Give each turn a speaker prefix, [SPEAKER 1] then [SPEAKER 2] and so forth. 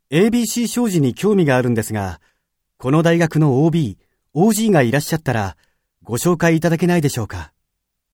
[SPEAKER 1] ABC 商事に興味があるんですが、この大学の OB、OG がいらっしゃったら、ご紹介いただけないでしょうか。